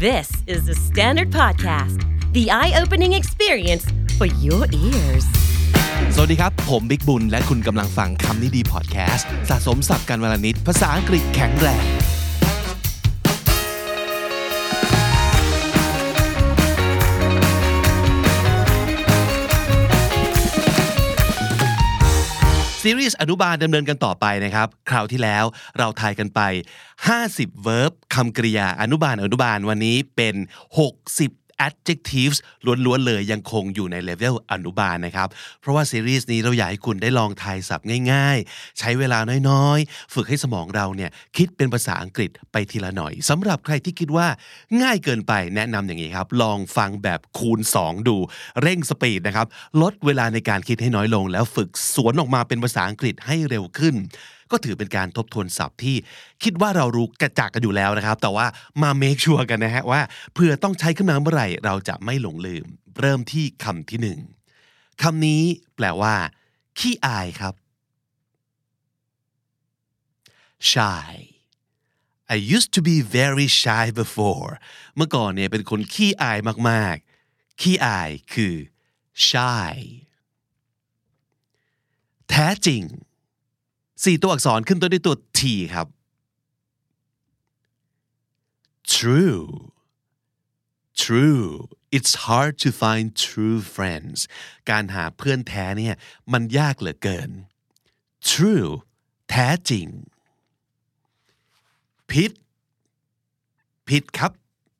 This is the Standard Podcast, the eye-opening experience for your ears. สวัสดีครับผมบิ๊กบุญและคุณกำลังฟังคำนี้ดีพอดแคสต์สะสมศัพท์กันวลนิดภาษาอังกฤษแข็งแรงซีรีส์อนุบาลดำเนินกันต่อไปนะครับคราวที่แล้วเราทายกันไป50 verb คำกริยาอนุบาลวันนี้เป็น60 adjectives ล้วนๆเลยยังคงอยู่ในเลเวลอนุบาลนะครับเพราะว่าซีรีส์นี้เราอยากให้คุณได้ลองทายศัพท์ง่ายๆใช้เวลาน้อยๆฝึกให้สมองเราเนี่ยคิดเป็นภาษาอังกฤษไปทีละหน่อยสำหรับใครที่คิดว่าง่ายเกินไปแนะนำอย่างนี้ครับลองฟังแบบคูณ2ดูเร่งสปีดนะครับลดเวลาในการคิดให้น้อยลงแล้วฝึกสวนออกมาเป็นภาษาอังกฤษให้เร็วขึ้นก็ถือเป็นการทบทวนศัพท์ที่คิดว่าเรารู้กระจากกันอยู่แล้วนะครับแต่ว่ามาเมคชัวร์กันนะฮะว่าเพื่อต้องใช้ขึ้นมาเมื่อไหร่เราจะไม่หลงลืมเริ่มที่คำที่1คำนี้แปลว่าขี้อายครับ shy I used to be very shy before เมื่อก่อนเนี่ยเป็นคนขี้อายมากๆขี้อายคือ shy แท้จริง4 ตัวอักษรขึ้นต้นด้วยตัว T ครับ True It's hard to find true friends การหาเพื่อนแท้เนี่ยมันยากเหลือเกิน True แท้จริงผิดครับ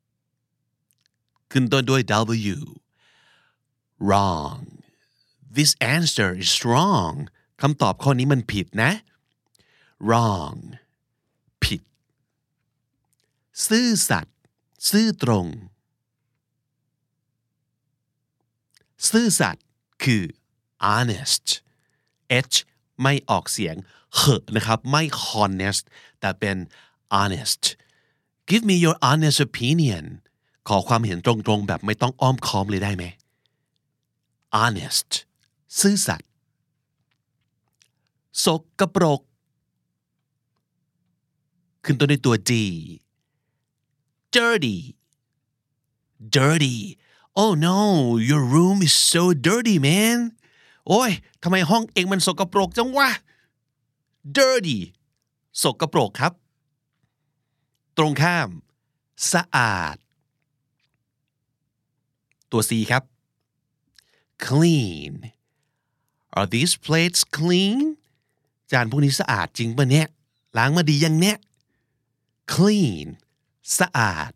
ขึ้นต้นด้วย W Wrong This answer is wrong คำตอบข้อนี้มันผิดนะ wrong ผิดซื่อสัตย์ซื่อตรงซื่อสัตย์คือ honest h ไม่ออกเสียงเหนะครับไม่ honest แต่เป็น honest give me your honest opinion ขอความเห็นตรงๆแบบไม่ต้องอ้อมค้อมเลยได้ไหม honest ซื่อสัตย์สกปรกขึ้นต้นด้วยตัว D dirty oh no your room is so dirty man โอ้ยทำไมห้องเองมันสกปรกจังวะ dirty สกปรกครับตรงข้ามสะอาดตัว C ครับ clean are these plates clean จานพวกนี้สะอาดจริงป่ะเนี่ยล้างมาดียังเนี่ย clean สะอาด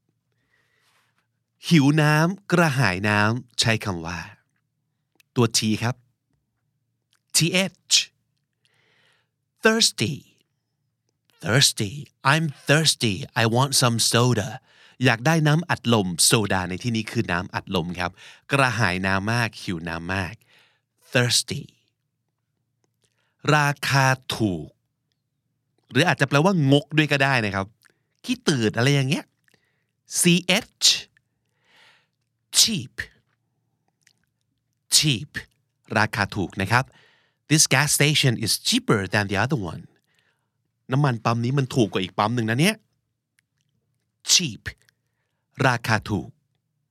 หิวน้ำกระหายน้ำใช้คำว่าตัว T ครับ th thirsty I'm thirsty I want some soda อยากได้น้ำอัดลมโซดาในที่นี้คือน้ำอัดลมครับกระหายน้ำมากหิวน้ำมาก thirsty ราคาถูกหรืออาจจะแปลว่างกด้วยก็ได้นะครับขี้ตื่นอะไรอย่างเงี้ย ch cheap ราคาถูกนะครับ This gas station is cheaper than the other one น้ำมันปั๊มนี้มันถูกกว่าอีกปั๊มหนึ่งนะเนี่ย cheap ราคาถูก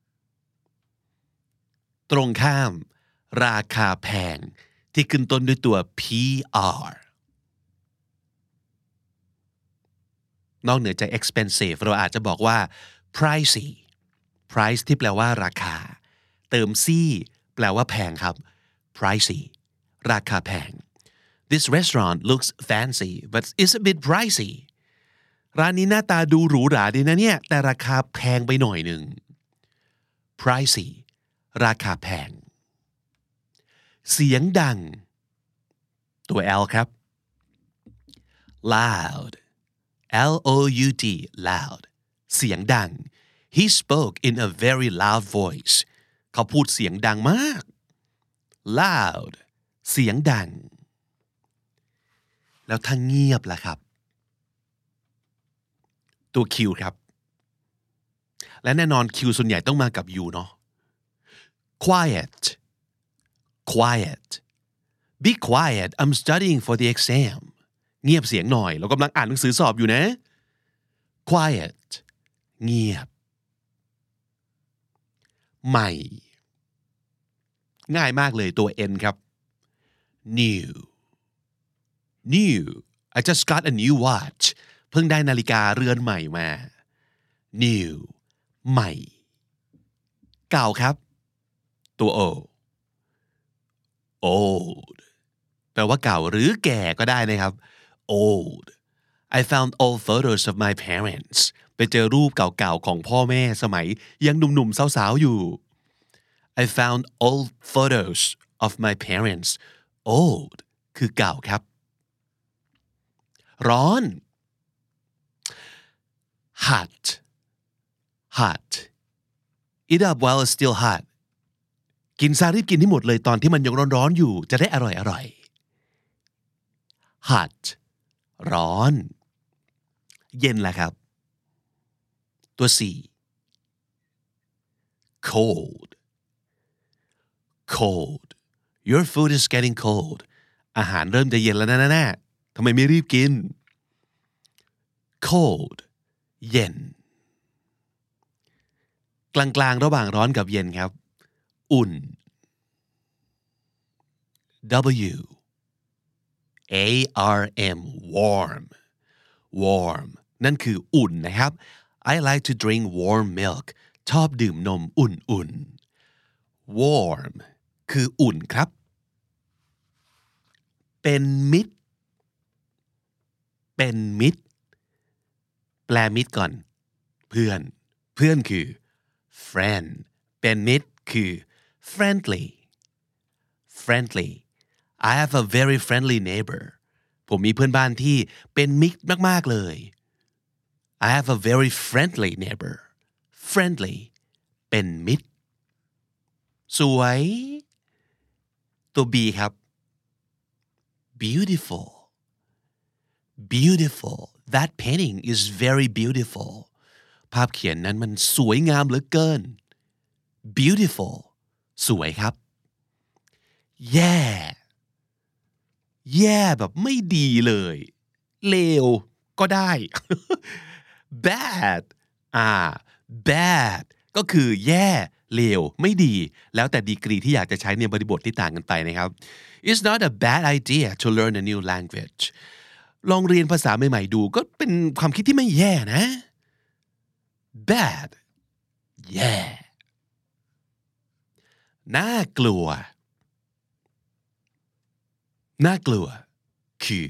ตรงข้ามราคาแพงที่ขึ้นต้นด้วยตัว PR นอกเหนือจาก expensive เราอาจจะบอกว่า pricey price ที่แปลว่าราคาเติม c แปลว่าแพงครับ pricey ราคาแพง This restaurant looks fancy but it's a bit pricey ร้านนี้หน้าตาดูหรูหราดีนะเนี่ยแต่ราคาแพงไปหน่อยหนึ่ง pricey ราคาแพงเสียงดังตัว L ครับ loud L-O-U-D loud เสียงดังHe spoke in a very loud voice เขาพูดเสียงดังมาก loud เสียงดังแล้วถ้าเงียบล่ะครับตัว Q ครับและแน่นอน Q ส่วนใหญ่ต้องมากับ U เนาะ quiet be quiet I'm studying for the exam เงียบเสียงหน่อยเรากำลังอ่านหนังสือสอบอยู่นะ quiet เงียบใหม่ง่ายมากเลยตัว N ครับ new I just got a new watch เพิ่งได้นาฬิกาเรือนใหม่มา new ใหม่เก่าครับตัว O old แปลว่าเก่าหรือแก่ก็ได้นะครับ old I found old photos of my parents ไปเจอรูปเก่าๆของพ่อแม่สมัยยังหนุ่มๆสาวๆอยู่ I found old photos of my parents old คือเก่าครับร้อน hot eat up while it's still hot กินซารีบกินให้หมดเลยตอนที่มันยังร้อนๆอยู่จะได้อร่อยๆ hot ร้อนเย็นล่ะครับตัว C cold your food is getting cold อาหารเริ่มจะเย็นแล้วนะทำไมไม่รีบกิน cold เย็นกลางๆระหว่างร้อนกับเย็นครับอุ่น W A R M warm นั่นคืออุ่นนะครับ I like to drink warm milk ชอบดื่มนมอุ่นๆ warm คืออุ่นครับเป็นมิตรแปลมิตรก่อนเพื่อนคือ friend เป็นมิตรคือ friendly I have a very friendly neighbor ผมมีเพื่อนบ้านที่เป็นมิตรมากๆเลย I have a very friendly neighbor friendly เป็นมิตรสวยตัว B ครับ beautiful that painting is very beautiful ภาพเขียนนั้นมันสวยงามเหลือเกิน beautiful สวยครับแย่แบบไม่ดีเลยเลวก็ได้ bad bad ก็คือแย่เลวไม่ดีแล้วแต่ดีกรีที่อยากจะใช้ในบริบทที่ต่างกันไปนะครับ It's not a bad idea to learn a new language ลองเรียนภาษาใหม่ๆดูก็เป็นความคิดที่ไม่แย่นะ bad แย่น่ากลัวคือ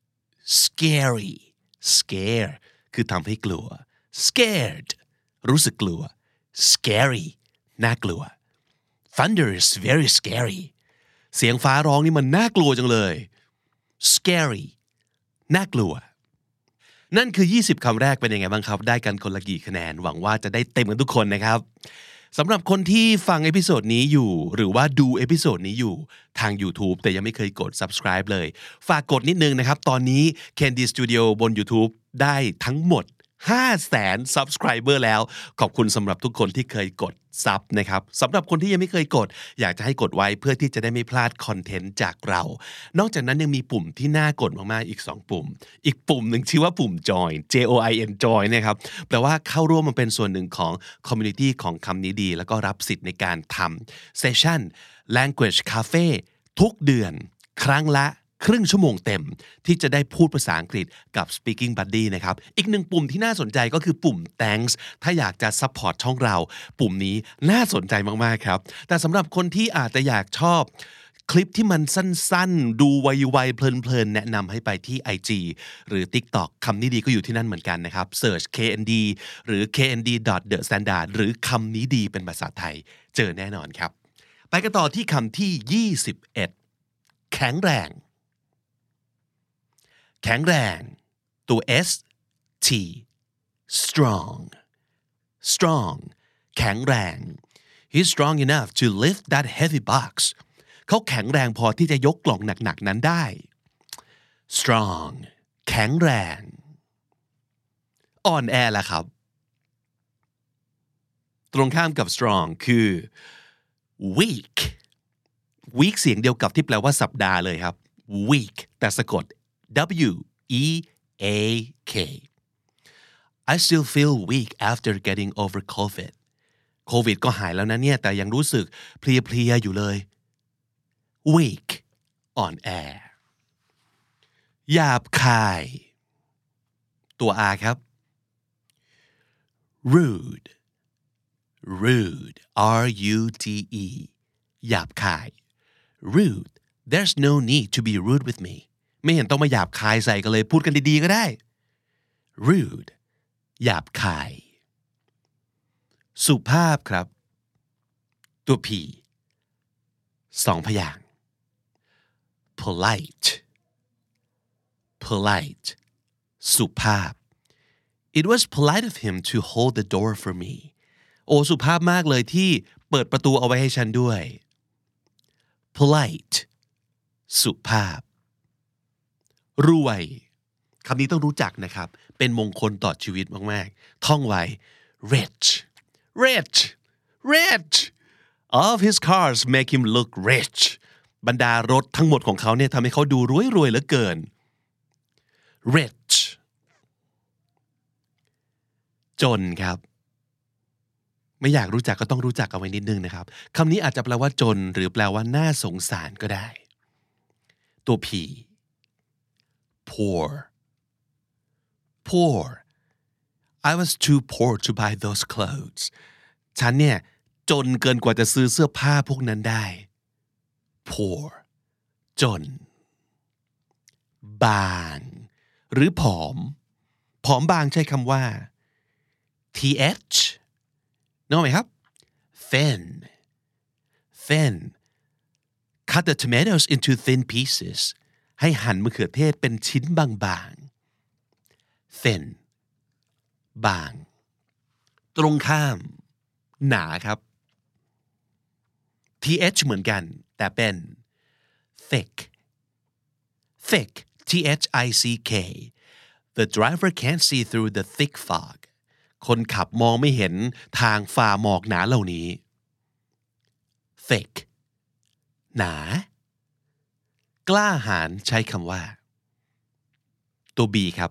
scare คือทำให้กลัว scared รู้สึกกลัว scary น่ากลัว thunder is very scary เสียงฟ้าร้องนี่มันน่ากลัวจังเลย scary น่ากลัวนั่นคือ20คำแรกเป็นยังไงบ้างครับได้กันคนละกี่คะแนนหวังว่าจะได้เต็มกันทุกคนนะครับสำหรับคนที่ฟังเอพิโซดนี้อยู่หรือว่าดูเอพิโซดนี้อยู่ทาง YouTube แต่ยังไม่เคยกด subscribe เลยฝากกดนิดนึงนะครับตอนนี้ Candy Studio บน YouTube ได้ทั้งหมด 500,000 subscriber แล้วขอบคุณสำหรับทุกคนที่เคยกดซับนะครับสำหรับคนที่ยังไม่เคยกดอยากจะให้กดไว้เพื่อที่จะได้ไม่พลาดคอนเทนต์จากเรานอกจากนั้นยังมีปุ่มที่น่ากดมากๆอีก2ปุ่มอีกปุ่มหนึ่งชื่อว่าปุ่ม join join join นะครับแปลว่าเข้าร่วมมาเป็นส่วนหนึ่งของ community ของคำนี้ดีแล้วก็รับสิทธิ์ในการทำ session language cafe ทุกเดือนครั้งละครึ่งชั่วโมงเต็มที่จะได้พูดภาษาอังกฤษกับ Speaking Buddy นะครับอีกหนึ่งปุ่มที่น่าสนใจก็คือปุ่ม Thanks ถ้าอยากจะ support ช่องเราปุ่มนี้น่าสนใจมากๆครับแต่สำหรับคนที่อาจจะอยากชอบคลิปที่มันสั้นๆดูไวๆเพลินๆแนะนำให้ไปที่ IG หรือ TikTok คำนี้ดีก็อยู่ที่นั่นเหมือนกันนะครับ Search KND หรือ knd.thestandard หรือคำนี้ดีเป็นภาษาไทยเจอแน่นอนครับไปกันต่อที่คำที่21แข็งแรงตัว S T strong แข็งแรง He's strong enough to lift that heavy box เขาแข็งแรงพอที่จะยกกล่องหนักๆนั้นได้ strong แข็งแรงอ่อนแอล่ะครับตรงข้ามกับ strong คือ weak เสียงเดียวกับที่แปลว่าสัปดาห์เลยครับ weak แต่สะกดWEAK I still feel weak after getting over COVID โควิดก็หายแล้วนะเนี่ยแต่ยังรู้สึกเพลียๆอยู่เลย weak อ่อนแอหยาบคายตัว R ครับ rude R-U-D-E หยาบคาย rude there's no need to be rude with me ไม่เห็นต้องมาหยาบคายใส่กันเลยพูดกันดีๆก็ได้ rude หยาบคายสุภาพครับตัว P สองพยางค์ polite สุภาพ It was polite of him to hold the door for me โอ้สุภาพมากเลยที่เปิดประตูเอาไว้ให้ฉันด้วย polite สุภาพรวยคำนี้ต้องรู้จักนะครับเป็นมงคลต่อชีวิตมากๆท่องไว้ rich all of his cars make him look rich บรรดารถทั้งหมดของเขาเนี่ยทำให้เขาดูรวยเหลือเกิน rich จนครับไม่อยากรู้จักก็ต้องรู้จักเอาไว้นิดนึงนะครับคำนี้อาจจะแปลว่าจนหรือแปลว่าน่าสงสารก็ได้ตัว P poor I was too poor to buy those clothes ฉันเนี่ยจนเกินกว่าจะซื้อเสื้อผ้าพวกนั้นได้ poor จนบางหรือผอมบางใช้คำว่า th นึกออกไหมครับ thin cut the tomatoes into thin pieces ให้หั่นมะเขือเทศเป็นชิ้นบางๆ thin บางตรงข้ามหนาครับ th เหมือนกันแต่เป็น thick thick the driver can't see through the thick fog คนขับมองไม่เห็นทางฝ่าหมอกหนาเหล่านี้ thick หนากล้าหาญใช้คำว่าตัว B ครับ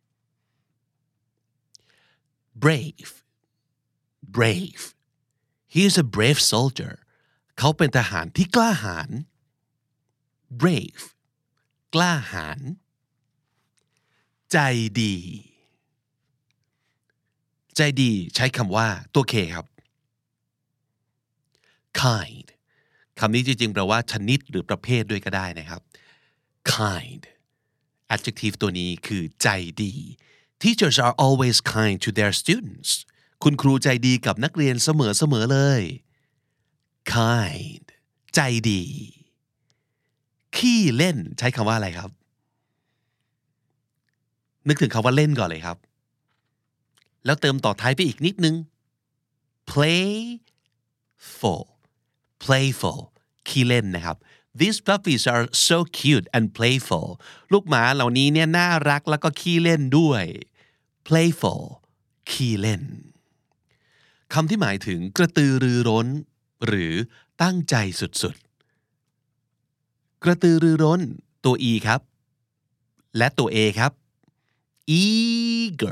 brave he is a brave soldier เขาเป็นทหารที่กล้าหาญ brave กล้าหาญใจดีใช้คำว่าตัว K ครับ kind คำนี้จริงๆแปลว่าชนิดหรือประเภทด้วยก็ได้นะครับ kind adjective ตัวนี้คือใจดี Teachers are always kind to their students คุณครูใจดีกับนักเรียนเสมอเลย kind ใจดีขี้เล่นใช้คำว่าอะไรครับนึกถึงคำว่าเล่นก่อนเลยครับแล้วเติมต่อท้ายไปอีกนิดนึง playful ขี้เล่นนะครับ These puppies are so cute and playful ลูกหมาเหล่านี้เนี่ยน่ารักแล้วก็ขี้เล่นด้วย playful ขี้เล่นคำที่หมายถึงกระตือรือร้นหรือตั้งใจสุดๆกระตือรือร้นตัว E ครับและตัว A ครับ eager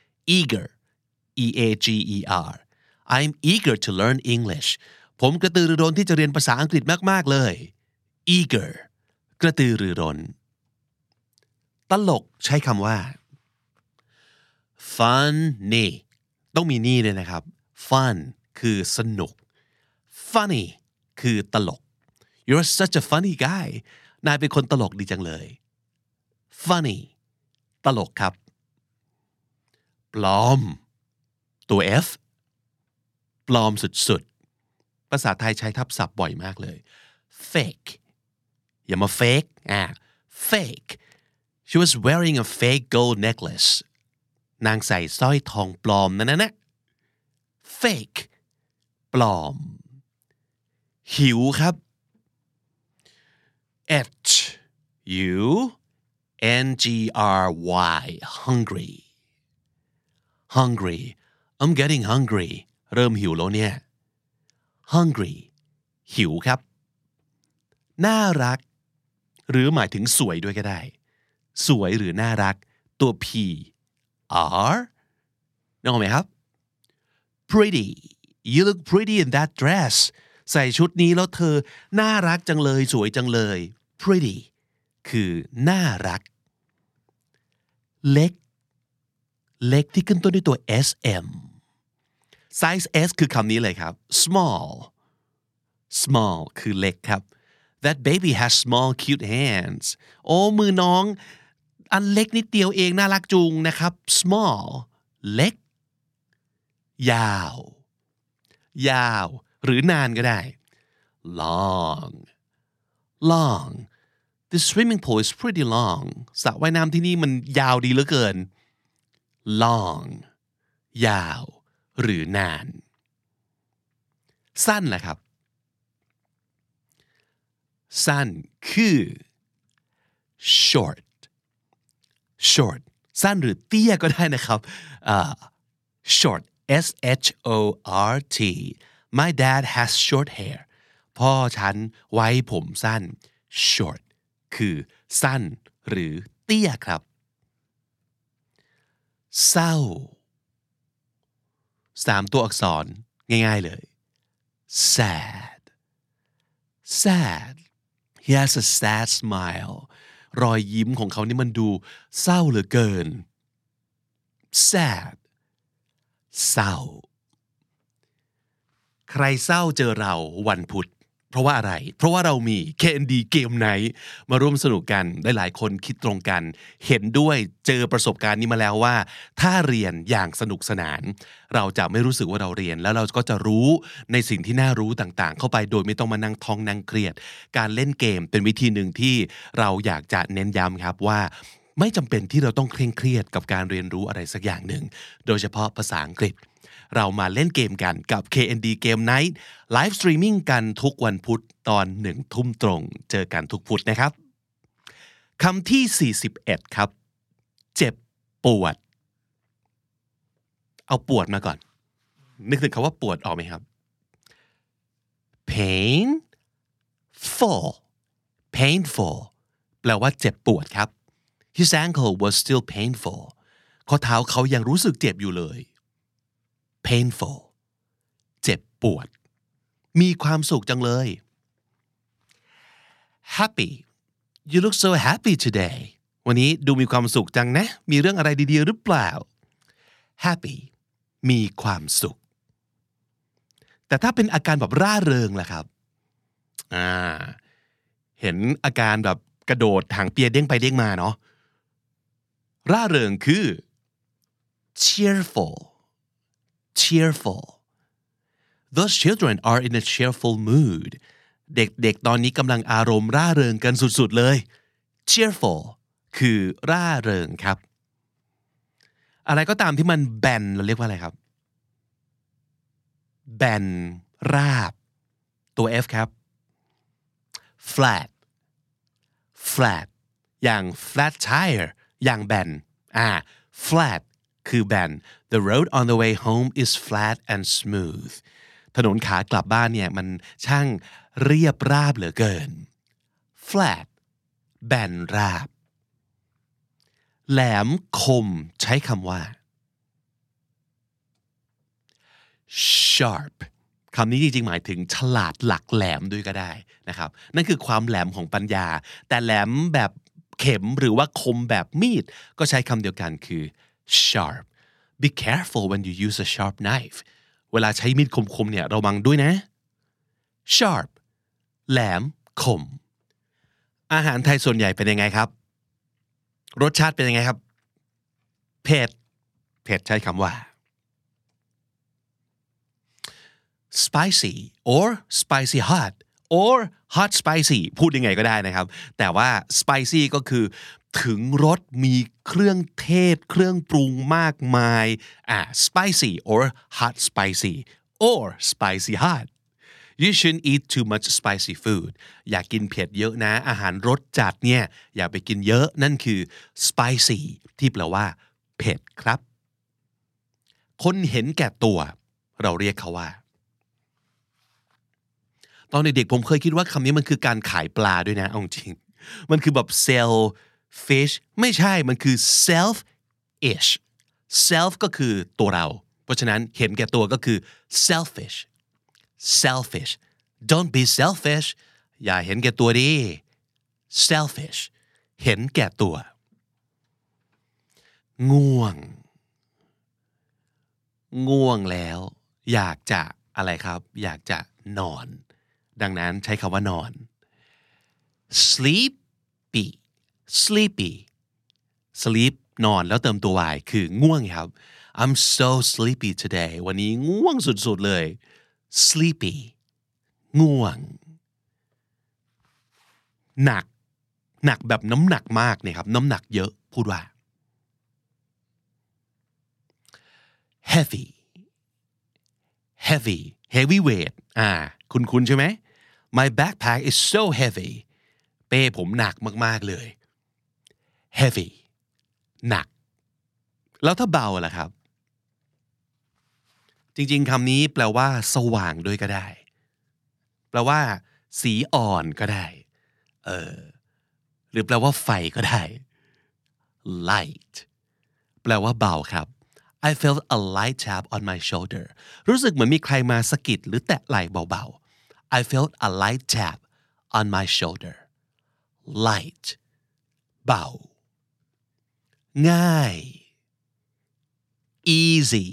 E-A-G-E-R I'm eager to learn English ผมกระตือรือร้นที่จะเรียนภาษาอังกฤษมากๆเลย eager กระตือรือร้นตลกใช้คำว่า funny ต้องมีนี่ด้วยนะครับ fun คือสนุก funny คือตลก You're such a funny guy นายเป็นคนตลกดีจังเลย funny ตลกครับปลอมตัว F ปลอมสุดๆภาษาไทยใช้ทับศัพท์บ่อยมากเลย fake อย่ามา fake fake she was wearing a fake gold necklace นางใส่สร้อยทองปลอมนั่นนะ fake ปลอมหิวครับ H U N G R Y hungry I'm getting hungry เริ่มหิวแล้วเนี่ย hungry หิวครับน่ารักหรือหมายถึงสวยด้วยก็ได้สวยหรือน่ารักตัว P R นึกออกไหมครับ pretty you look pretty in that dress ใส่ชุดนี้แล้วเธอน่ารักจังเลยสวยจังเลย pretty คือน่ารักเล็กที่ขึ้นต้นด้วยตัว sm size s คือคำนี้เลยครับ small คือเล็กครับ that baby has small cute hands โอ้มือน้องอันเล็กนิดเดียวเองน่ารักจุงนะครับ small เล็กยาวหรือนานก็ได้ long the swimming pool is pretty long สระว่ายน้ำที่นี่มันยาวดีเหลือเกิน long ยาวหรือนานสั้นแหละครับสั้นคือ short สั้นหรือเตี้ยก็ได้นะครับshort short my dad has short hair พ่อฉันไว้ผมสั้น short คือสั้นหรือเตี้ยครับเศร้า3ตัวอักษรง่ายๆเลย sad he has a sad smile รอยยิ้มของเขานี่มันดูเศร้าเหลือเกิน sad เศร้าใครเศร้าเจอเราวันพุธเพราะว่าอะไรเพราะว่าเรามี K&D เกมไนท์มาร่วมสนุกกันหลายๆคนคิดตรงกันเห็นด้วยเจอประสบการณ์นี้มาแล้วว่าถ้าเรียนอย่างสนุกสนานเราจะไม่รู้สึกว่าเราเรียนแล้วเราก็จะรู้ในสิ่งที่น่ารู้ต่างๆเข้าไปโดยไม่ต้องมานั่งท้องนั่งเครียดการเล่นเกมเป็นวิธีหนึ่งที่เราอยากจะเน้นย้ำครับว่าไม่จำเป็นที่เราต้องเคร่งเครียดกับการเรียนรู้อะไรสักอย่างหนึ่งโดยเฉพาะภาษาอังกฤษเรามาเล่นเกมกันกับ K&D Game Night ไลฟ์สตรีมมิ่งกันทุกวันพุธตอน 1 ทุ่มตรงเจอกันทุกพุธนะครับคำที่41ครับเจ็บปวดเอาปวดมาก่อนนึกถึงคำว่าปวดออกไหมครับ painful แปลว่าเจ็บปวดครับ His ankle was still painful ข้อเท้าเขายังรู้สึกเจ็บอยู่เลย painful เจ็บปวดมีความสุขจังเลย happy you look so happy today วันนี้ดูมีความสุขจังนะมีเรื่องอะไรดีๆหรือเปล่า happy มีความสุขแต่ถ้าเป็นอาการแบบร่าเริงล่ะครับเห็นอาการแบบกระโดดหางเปียเด้งไปเด้งมาเนาะร่าเริงคือ cheerful those children are in a cheerful mood เด็กๆตอนนี้กำลังอารมณ์ร่าเริงกันสุดๆเลย cheerful คือร่าเริงครับอะไรก็ตามที่มันแบนเราเรียกว่าอะไรครับแบนราบตัว F ครับ flat อย่าง flat tire อย่างแบนflat คือแบน The road on the way home is flat and smooth ถนนขากลับบ้านเนี่ยมันช่างเรียบราบเหลือเกิน flat แบนราบแหลมคมใช้คำว่า sharp คำนี้จริงๆหมายถึงฉลาดหลักแหลมด้วยก็ได้นะครับนั่นคือความแหลมของปัญญาแต่แหลมแบบเข็มหรือว่าคมแบบมีดก็ใช้คำเดียวกันคือ sharp be careful when you use a sharp knife เวลาใช้มีดคมๆเนี่ยระวังด้วยนะ sharp แหลมคมอาหารไทยส่วนใหญ่เป็นยังไงครับรสชาติเป็นยังไงครับเผ็ดใช้คำว่า spicy or spicy hot or hot spicy พูดยังไงก็ได้นะครับแต่ว่า spicy ก็คือถึงรสมีเครื่องเทศเครื่องปรุงมากมายspicy or hot spicy or spicy hot you shouldn't eat too much spicy food อย่ากินเผ็ดเยอะนะอาหารรสจัดเนี่ยอย่าไปกินเยอะนั่นคือ spicy ที่แปลว่าเผ็ดครับคนเห็นแก่ตัวเราเรียกเขาว่าตอนเด็กๆผมเคยคิดว่าคำนี้มันคือการขายปลาด้วยนะเอาจริงมันคือแบบ sell fish ไม่ใช่มันคือ selfish self ก็คือตัวเราเพราะฉะนั้นเห็นแก่ตัวก็คือ selfish selfish don't be selfish อย่าเห็นแก่ตัวดิ selfish เห็นแก่ตัวง่วงแล้วอยากจะอะไรครับอยากจะนอนดังนั้นใช้คำว่านอน sleepy sleep นอนแล้วเติมตัว y คือง่วงครับ I'm so sleepy today วันนี้ง่วงสุดๆเลย sleepy ง่วงหนักแบบน้ำหนักมากเนี่ยครับน้ำหนักเยอะพูดว่า heavy weight คุ้นใช่ไหม My backpack is so heavy เป้ผมหนักมากๆเลย heavy หนักแล้วถ้าเบาล่ะครับจริงๆคำนี้แปลว่าสว่างด้วยก็ได้แปลว่าสีอ่อนก็ได้หรือแปลว่าไฟก็ได้ light แปลว่าเบาครับ I felt a light tap on my shoulder รู้สึกเหมือนมีใครมาสะกิดหรือแตะไหล่เบาๆ I felt a light tap on my shoulder light เบาง่าย easy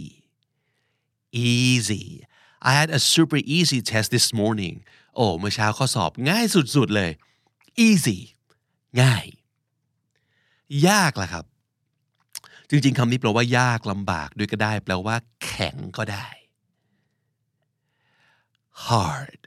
I had a super easy test this morning เมื่อเช้าข้อสอบง่ายสุดๆเลย easy ง่ายยากล่ะครับจริงๆคำนี้แปลว่ายากลำบากด้วยก็ได้แปลว่าแข็งก็ได้ hard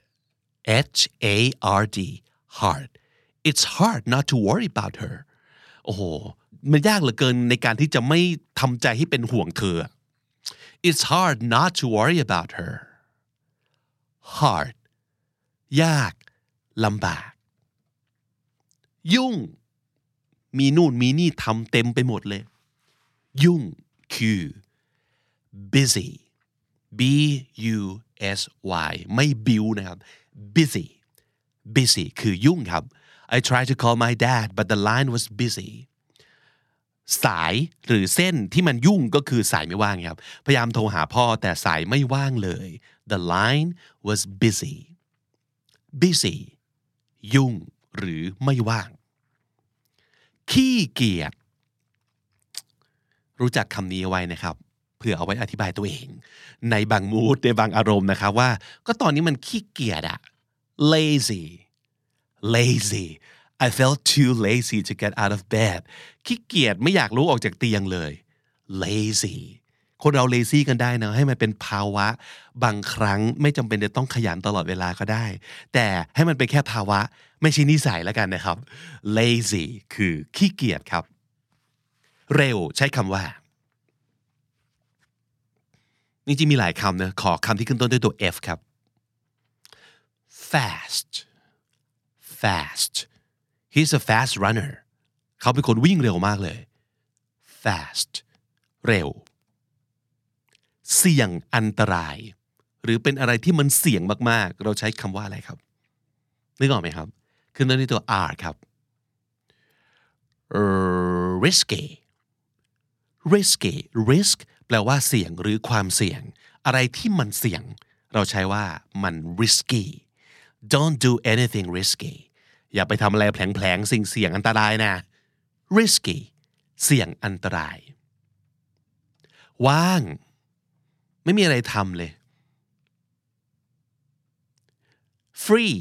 hard hard it's hard not to worry about her โอ้โหมันยากเหลือเกินในการที่จะไม่ทำใจให้เป็นห่วงเธอ it's hard not to worry about her hard ยากลำบากยุ่งมีนู่นมีนี่ทำเต็มไปหมดเลยยุ่งคือ busy b u s y ไม่ บิวนะครับ busy คือยุ่งครับ I tried to call my dad but the line was busy สายหรือเส้นที่มันยุ่งก็คือสายไม่ว่างครับพยายามโทรหาพ่อแต่สายไม่ว่างเลย the line was busy ยุ่งหรือไม่ว่างขี้เกียจรู้จักคำนี้เอาไว้นะครับเพื่อเอาไว้อธิบายตัวเองในบางมูดในบางอารมณ์นะครับว่าก็ตอนนี้มันขี้เกียจอะ lazy I felt too lazy to get out of bed ขี้เกียจไม่อยากลุกออกจากเตียงเลย lazy คนเรา lazy กันได้นะให้มันเป็นภาวะบางครั้งไม่จำเป็นจะต้องขยันตลอดเวลาก็ได้แต่ให้มันเป็นแค่ภาวะไม่ใช่นิสัยแล้วกันนะครับ lazy คือขี้เกียจครับเร็วใช้คำว่าจริงๆมีหลายคำนะขอคำที่ขึ้นต้นด้วยตัว F ครับ fast he's a fast runner เขาเป็นคนวิ่งเร็วมากเลย fast เร็วเสี่ยงอันตรายหรือเป็นอะไรที่มันเสี่ยงมากๆเราใช้คำว่าอะไรครับนึกออกไหมครับขึ้นต้นด้วยตัว R ครับ risky risk แปลว่าเสี่ยงหรือความเสี่ยงอะไรที่มันเสี่ยงเราใช้ว่ามัน risky don't do anything risky อย่าไปทำอะไรแผลงๆสิ่งเสี่ยงอันตรายนะ risky เสี่ยงอันตรายว่างไม่มีอะไรทำเลย free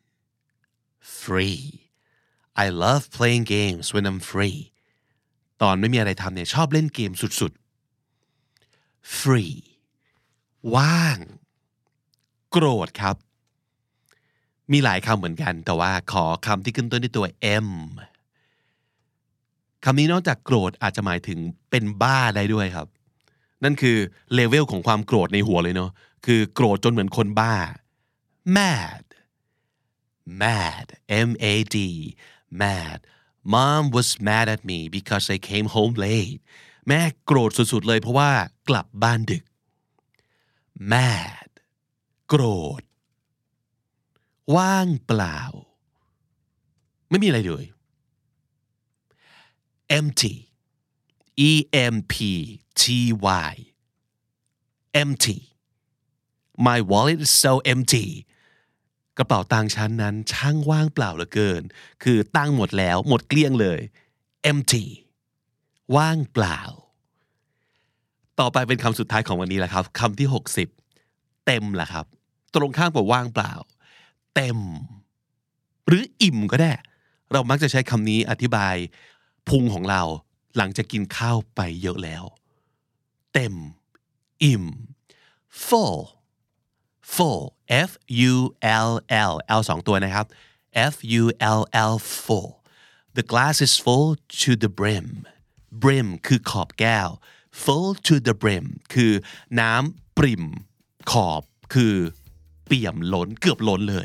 I love playing games when I'm freeตอนไม่มีอะไรทำเนี่ยชอบเล่นเกมสุดๆ free ว่างโกรธครับมีหลายคำเหมือนกันแต่ว่าขอคำที่ขึ้นต้นด้วยตัว M คำนี้นอกจากโกรธอาจจะหมายถึงเป็นบ้าได้ด้วยครับนั่นคือเลเวลของความโกรธในหัวเลยเนาะคือโกรธจนเหมือนคนบ้า mad M-A-D mad Mom was mad at me because I came home late แม่โกรธสุดๆเลยเพราะว่ากลับบ้านดึก mad โกรธว่างเปล่าไม่มีอะไรเลย empty E-M-P-T-Y empty my wallet is so empty กระเป๋าตังค์ฉันนั้นช่างว่างเปล่าเหลือเกินคือตังค์หมดแล้วหมดเกลี้ยงเลย empty ว่างเปล่าต่อไปเป็นคำสุดท้ายของวันนี้แหละครับคำที่60เต็มล่ะครับตรงข้ามกับว่างเปล่าเต็มหรืออิ่มก็ได้เรามักจะใช้คำนี้อธิบายพุงของเราหลังจากกินข้าวไปเยอะแล้วเต็มอิ่ม full full f u l l l 2ตัวนะครับ f u l l full the glass is full to the brim brim คือขอบแก้ว full to the brim คือน้ำปริ่มขอบคือเปี่ยมล้นเกือบล้นเลย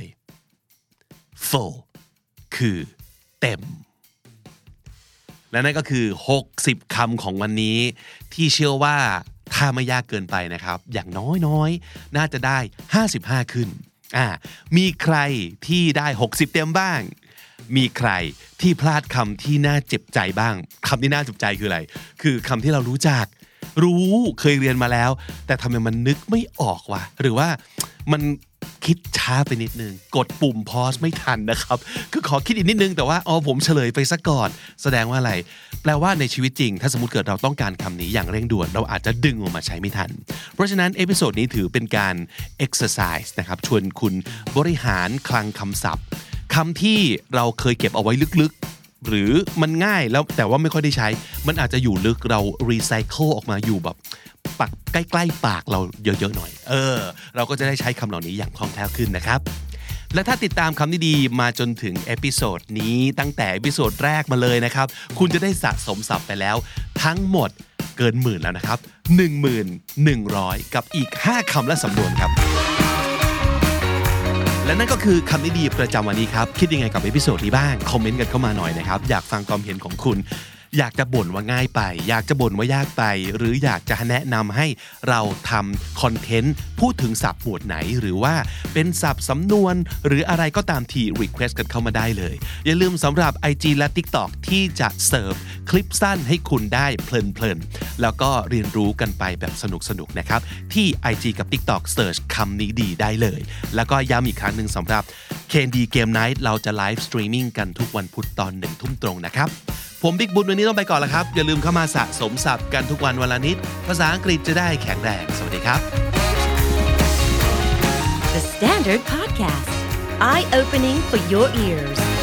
full คือเต็มและนั่นก็คือ60คำของวันนี้ที่เชื่อว่าถ้าไม่ยากเกินไปนะครับอย่างน้อยๆน่าจะได้55ขึ้นมีใครที่ได้60เต็มบ้างมีใครที่พลาดคำที่น่าเจ็บใจบ้างคำที่น่าเจ็บใจคืออะไรคือคำที่เรารู้จักเคยเรียนมาแล้วแต่ทำไมมันนึกไม่ออกวะหรือว่ามันคิดช้าไปนิดนึงกดปุ่ม pause ไม่ทันนะครับคือขอคิดอีกนิดนึงแต่ว่าผมเฉลยไปซะก่อนแสดงว่าอะไรแปลว่าในชีวิตจริงถ้าสมมุติเกิดเราต้องการคำนี้อย่างเร่งด่วนเราอาจจะดึงออกมาใช้ไม่ทันเพราะฉะนั้นเอพิโซดนี้ถือเป็นการ exercise นะครับชวนคุณบริหารคลังคำศัพท์คำที่เราเคยเก็บเอาไว้ลึกๆหรือมันง่ายแล้วแต่ว่าไม่ค่อยได้ใช้มันอาจจะอยู่ลึกเรา recycle ออกมาอยู่แบบปักใกล้ๆปากเราเยอะๆหน่อยเราก็จะได้ใช้คำเหล่านี้อย่างคล่องแคล่วขึ้นนะครับและถ้าติดตามคำดีๆมาจนถึงเอพิโซดนี้ตั้งแต่เอพิโซดแรกมาเลยนะครับคุณจะได้สะสมศัพท์ไปแล้วทั้งหมดเกินหมื่นแล้วนะครับ 11,100 กับอีก5คำและสำนวนครับและนั่นก็คือคำดีๆประจำวันนี้ครับคิดยังไงกับเอพิโซดนี้บ้างคอมเมนต์กันเข้ามาหน่อยนะครับอยากฟังความเห็นของคุณอยากจะบ่นว่าง่ายไปอยากจะบ่นว่ายากไปหรืออยากจะแนะนำให้เราทำคอนเทนต์พูดถึงศัพท์หมวดไหนหรือว่าเป็นศัพท์สำนวนหรืออะไรก็ตามที่ request กันเข้ามาได้เลยอย่าลืมสำหรับ IG และ TikTok ที่จะเสิร์ฟคลิปสั้นให้คุณได้เพลินๆแล้วก็เรียนรู้กันไปแบบสนุกๆนะครับที่ IG กับ TikTok Search คำนี้ดีได้เลยแล้วก็ย้ำอีกครั้งหนึ่งสำหรับ KND Game Night เราจะไลฟ์สตรีมมิ่งกันทุกวันพุธตอน 1 ทุ่มตรงนะครับผมบิ๊กบุญวันนี้ต้องไปก่อนแล้วครับอย่าลืมเข้ามาสะสมศัพท์กันทุกวันวันละนิดภาษาอังกฤษจะได้แข็งแรงสวัสดีครับ The Standard Podcast Eye Opening for Your Ears